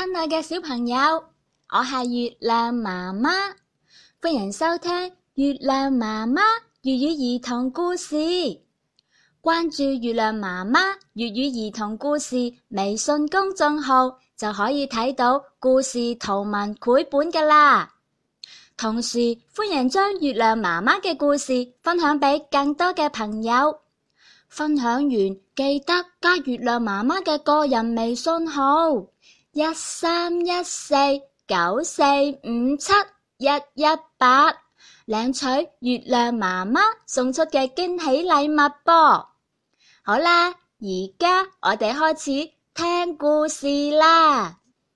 親愛嘅小朋友，我係月亮媽媽，歡迎收聽月亮媽媽粵語兒童故事。關注月亮媽媽粵語兒童故事微信公眾號，就可以睇到故事圖文繪本㗎喇。同時，歡迎將月亮媽媽嘅故事分享俾更多嘅朋友。分享完記得加月亮媽媽嘅個人微信號131494571181，領取月亮媽媽送出嘅驚喜禮物啵。好啦，而家我哋開始聽故事啦。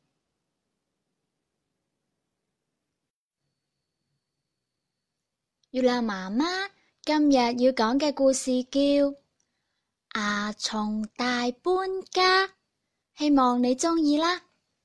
月亮媽媽今日要講嘅故事叫牙蟲大搬家，希望你鍾意啦。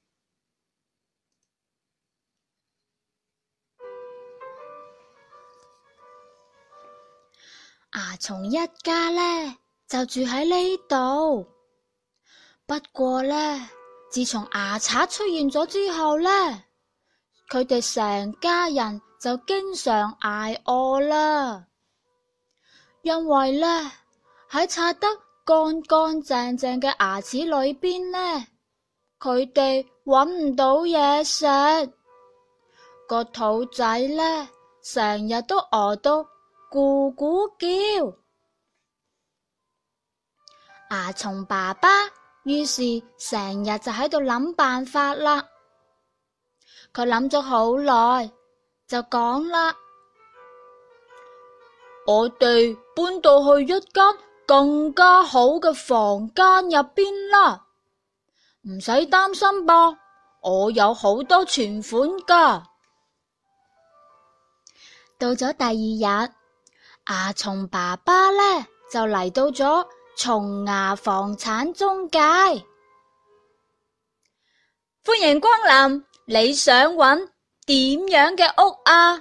牙蟲一家呢，就住喺呢度，不過呢，自從牙刷出現咗之後呢，佢哋成家人就經常挨餓啦，因為呢，喺刷得乾乾淨淨嘅牙齒裏邊呢，佢哋搵唔到嘢食，個肚仔呢，成日都餓到咕咕叫。牙蟲爸爸於是成日就喺度諗辦法啦。佢諗咗好耐，就講啦：我哋搬到去一間更加好嘅房間入邊啦，唔使擔心噃，我有好多存款㗎。到咗第二日，牙蟲爸爸呢就嚟到咗蟲牙房產中介。歡迎光臨，你想揾點樣嘅屋啊？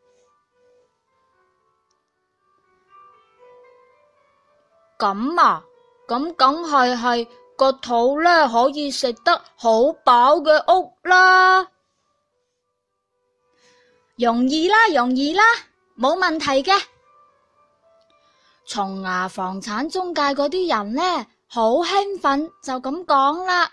咁啊，咁梗係個肚呢可以食得好飽嘅屋啦。容易啦，冇問題嘅。蟲牙房產中介嗰啲人呢，好興奮就咁講啦。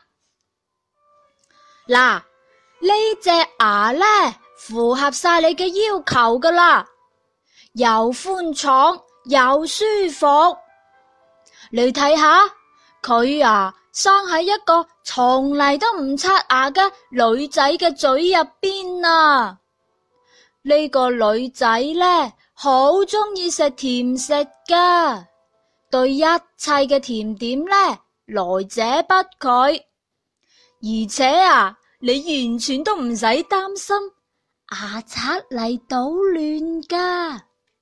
嗱，呢隻牙呢，符合晒你嘅要求噶啦，又寬敞又舒服。你睇下，佢啊生喺一個從嚟都唔刷牙嘅女仔嘅嘴入邊啊。呢個女仔呢，好鍾意食甜食噶，對一切嘅甜點呢，來者不拒。而且啊，你完全都唔使擔心牙刷嚟搗亂噶。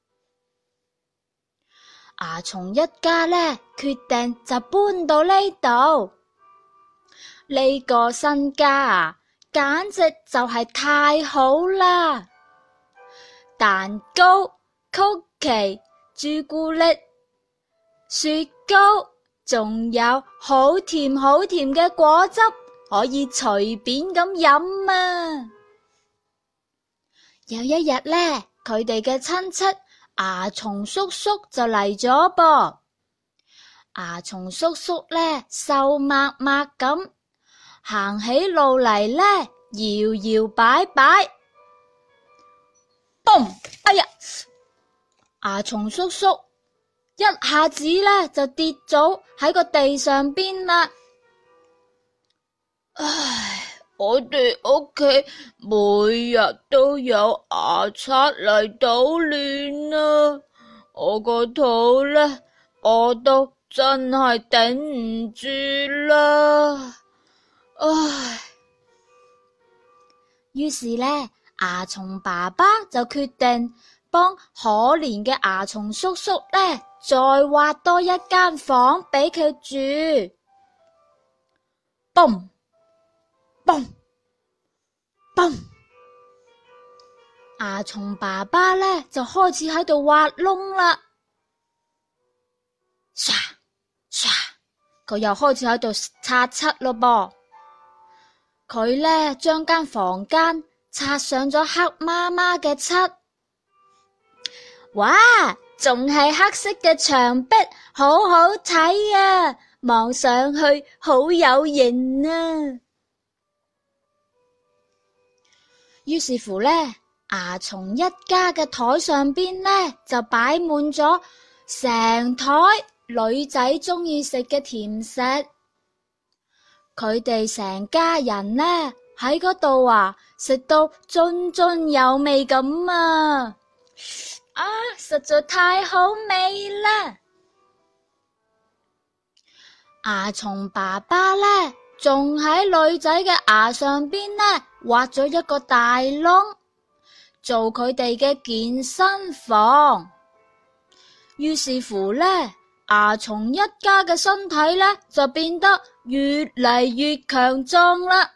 牙蟲一家呢，決定就搬到呢度。呢個新家啊，簡直就係太好啦！蛋糕、曲奇、朱古力、雪糕，仲有好甜嘅果汁，可以隨便咁飲啊！有一日呢，佢哋嘅親戚牙蟲叔叔就嚟咗噃。牙蟲叔叔呢，瘦抹抹咁行起路嚟呢，搖搖擺擺。嘣！哎呀，牙蟲叔叔一下子呢就跌咗喺個地上邊啦。唉，我哋屋企每日都有牙刷嚟搗亂啊，我個肚呢，餓到真係頂唔住啦。唉，於是呢，牙蟲爸爸就決定幫可憐嘅牙蟲叔叔呢，再挖多一間房俾佢住。嘣嘣嘣！牙蟲爸爸呢，就開始喺度挖窿啦。唰唰，佢又開始喺度擦漆咯噃。 佢呢將間房間擦上咗黑麻麻嘅漆，哇，仲係黑色嘅牆壁，好好睇啊！望上去好有型啊！於是乎呢，牙蟲一家嘅台上邊呢，就擺滿咗成台女仔鍾意食嘅甜食。佢哋成家人呢喺嗰度食到津津有味咁啊！實在太好味啦！牙蟲爸爸呢，仲喺女仔嘅牙上邊呢挖咗一個大窿，做佢哋嘅健身房。於是乎呢，牙蟲一家嘅身體呢就變得越嚟越強壯啦。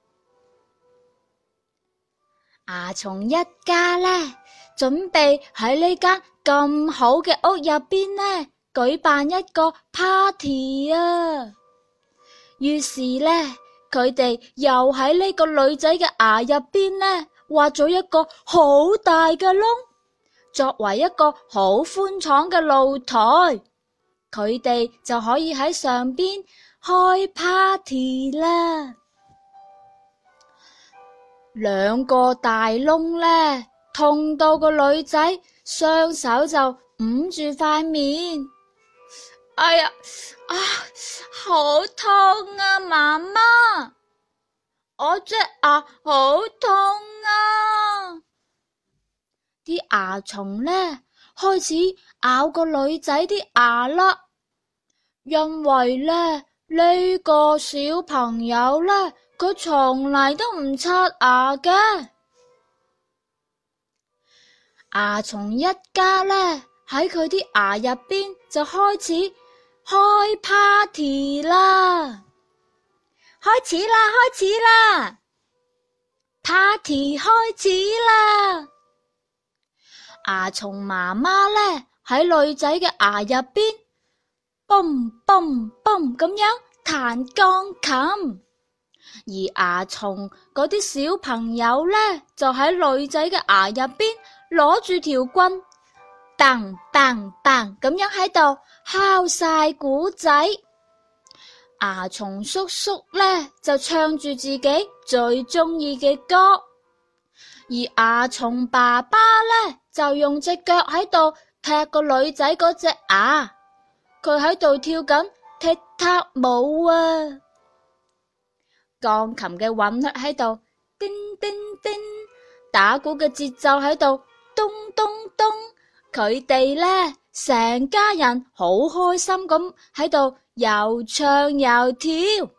牙蟲一家呢，準備喺呢間咁好嘅屋入邊呢，舉辦一個 party 啊！於是呢，佢哋又喺呢個女仔嘅牙入邊呢，挖咗一個好大嘅窿，作為一個好寬敞嘅露台，佢哋就可以喺上邊開 party 啦。兩個大窿呢，痛到個女仔雙手就捂住塊面。哎呀，好痛啊，媽媽，我隻牙好痛啊！啲牙蟲呢，開始咬個女仔啲牙啦，因為呢個小朋友呢，佢從嚟都唔刷牙嘅。牙蟲一家呢，喺佢啲牙入邊就開始開 party 啦！開始啦 ！party 開始啦！牙蟲媽媽呢，喺女仔嘅牙入邊嘣嘣嘣咁樣彈鋼琴，而牙蟲嗰啲小朋友呢，就喺女仔嘅牙入邊攞住條棍，嘭嘭嘭咁樣喺度敲晒鼓仔。牙蟲叔叔呢，就唱住自己最中意嘅歌，而牙蟲爸爸呢，就用隻腳喺度踢個女仔嗰隻牙，佢喺度跳緊踢踏舞啊！鋼琴嘅韻律喺度叮叮叮，打鼓嘅節奏喺度咚咚咚，佢哋呢，成家人好開心咁喺度又唱又跳，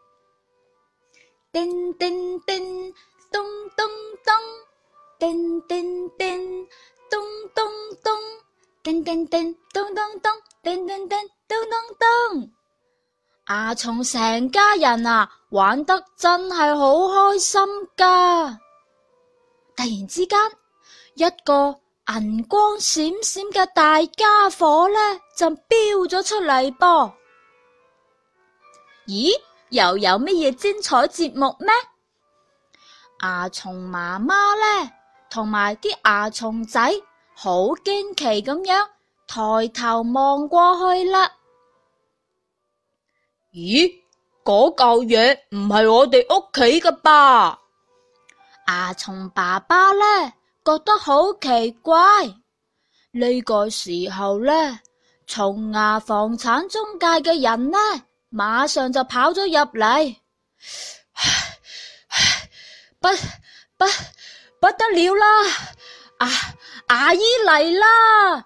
叮叮叮，咚咚咚，叮叮叮，咚咚咚，叮叮叮，咚咚咚，叮叮叮，咚咚咚。牙蟲成家人玩得真係好開心噶！突然之間，一個銀光閃閃嘅大家伙呢，就飆咗出嚟噃。咦，又有乜嘢精彩節目咩？牙蟲媽媽呢，同埋啲牙蟲仔好驚奇咁樣抬頭望過去啦。咦，嗰嚿嘢唔係我哋屋企㗎吧？牙蟲爸爸呢，覺得好奇怪。呢個時候呢，蟲牙房產中介嘅人呢，馬上就跑咗入嚟。不得了啦！牙醫嚟啦！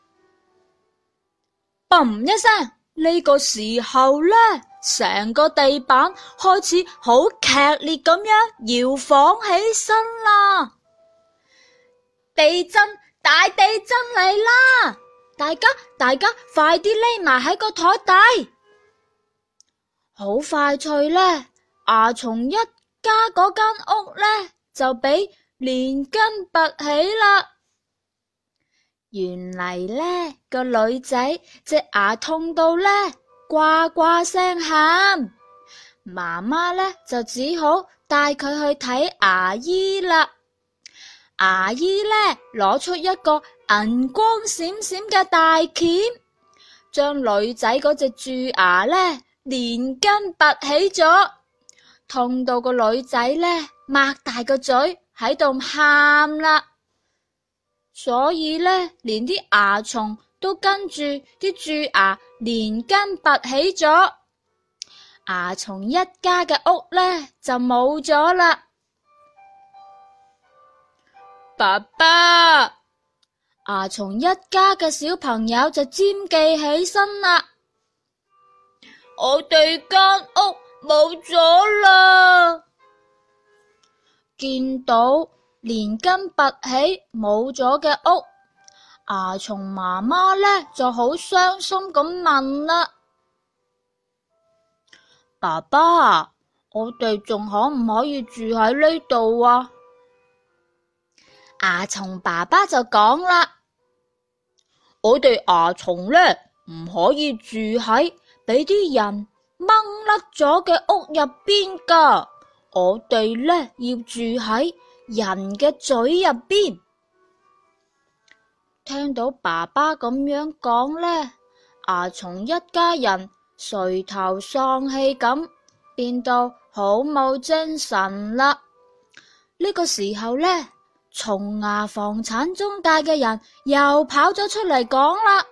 嘣一聲，呢個時候呢，成個地板開始好劇烈咁樣搖晃起身啦！地震，大地震嚟啦！大家快啲匿埋喺個台底！好快脆呢，牙蟲一家嗰間屋呢，就俾連根拔起啦！原嚟呢個女仔隻牙痛到呢呱呱聲喊，媽媽呢就只好帶佢去睇牙醫啦。牙醫呢，攞出一個銀光閃閃嘅大鉗，將女仔嗰隻蛀牙呢連根拔起咗，痛到個女仔呢擘大個嘴喺度喊啦。所以呢，連啲牙蟲都跟住啲蛀牙連根拔起咗，牙蟲一家嘅屋呢就冇咗啦。爸爸，牙蟲一家嘅小朋友就尖記起身啦。我哋間屋冇咗啦！見到連根拔起冇咗嘅屋，牙蟲媽媽呢就好傷心咁問啦：爸爸，我哋仲可唔可以住喺呢度啊？牙蟲爸爸就講啦：我哋牙蟲呢唔可以住喺俾啲人掹甩咗嘅屋入邊噶，我哋呢要住喺人嘅嘴入邊。聽到爸爸咁樣講呢，牙蟲一家人垂頭喪氣咁，變到好冇精神啦。呢個時候呢，蟲牙房產中介嘅人又跑咗出嚟講啦：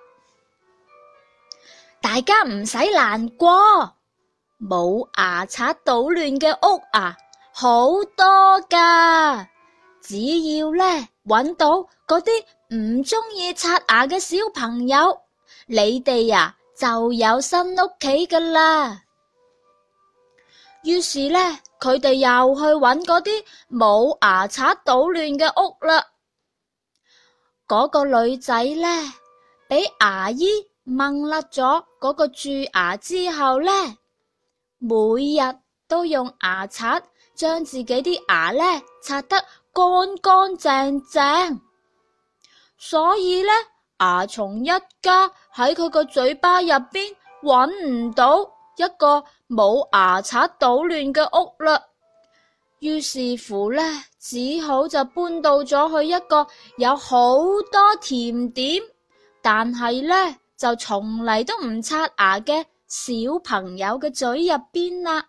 大家唔使難過，冇牙刷搗亂嘅屋啊，好多噶。只要呢揾到嗰啲唔中意刷牙嘅小朋友，你哋啊就有新屋企噶啦。於是呢，佢哋又去揾嗰啲冇牙刷搗亂嘅屋啦。嗰個女仔呢，俾牙醫掹甩咗嗰個蛀牙之後呢，每日都用牙刷將自己啲牙呢刷得乾乾淨淨。所以呢，牙蟲一家喺佢個嘴巴入邊揾唔到一個冇牙刷搗亂嘅屋啦。於是乎呢，只好就搬到咗去一個有好多甜點，但係呢就從嚟都唔刷牙嘅小朋友嘅嘴入邊啦。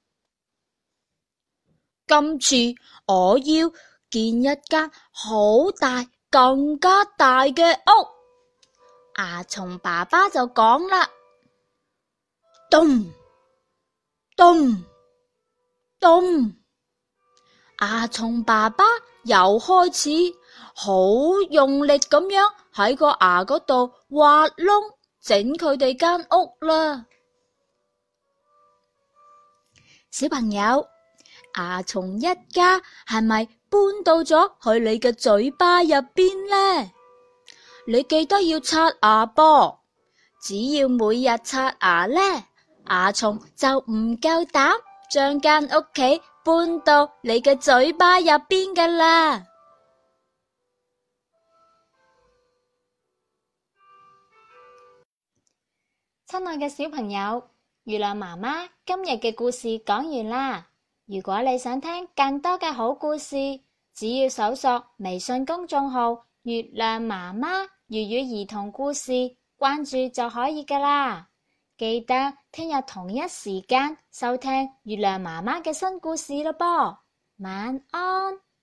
今次我要建一間好大更加大嘅屋，牙蟲爸爸就講啦：咚咚咚，牙蟲爸爸又開始好用力咁樣喺個牙嗰度挖窿，整佢哋間屋啦。小朋友，牙蟲一家係咪搬到咗去你嘅嘴巴入邊呢？你記得要刷牙噃，只要每日刷牙呢，牙蟲就唔夠膽將間屋企搬到你嘅嘴巴入邊噶啦。 親愛嘅小朋友，月亮媽媽今日嘅故事講完啦。如果你想聽更多嘅好故事，只要搜索微信公眾號月亮媽媽粵語兒童故事，關注就可以噶啦。記得聽日同一時間收聽月亮媽媽嘅新故事咯噃。晚安。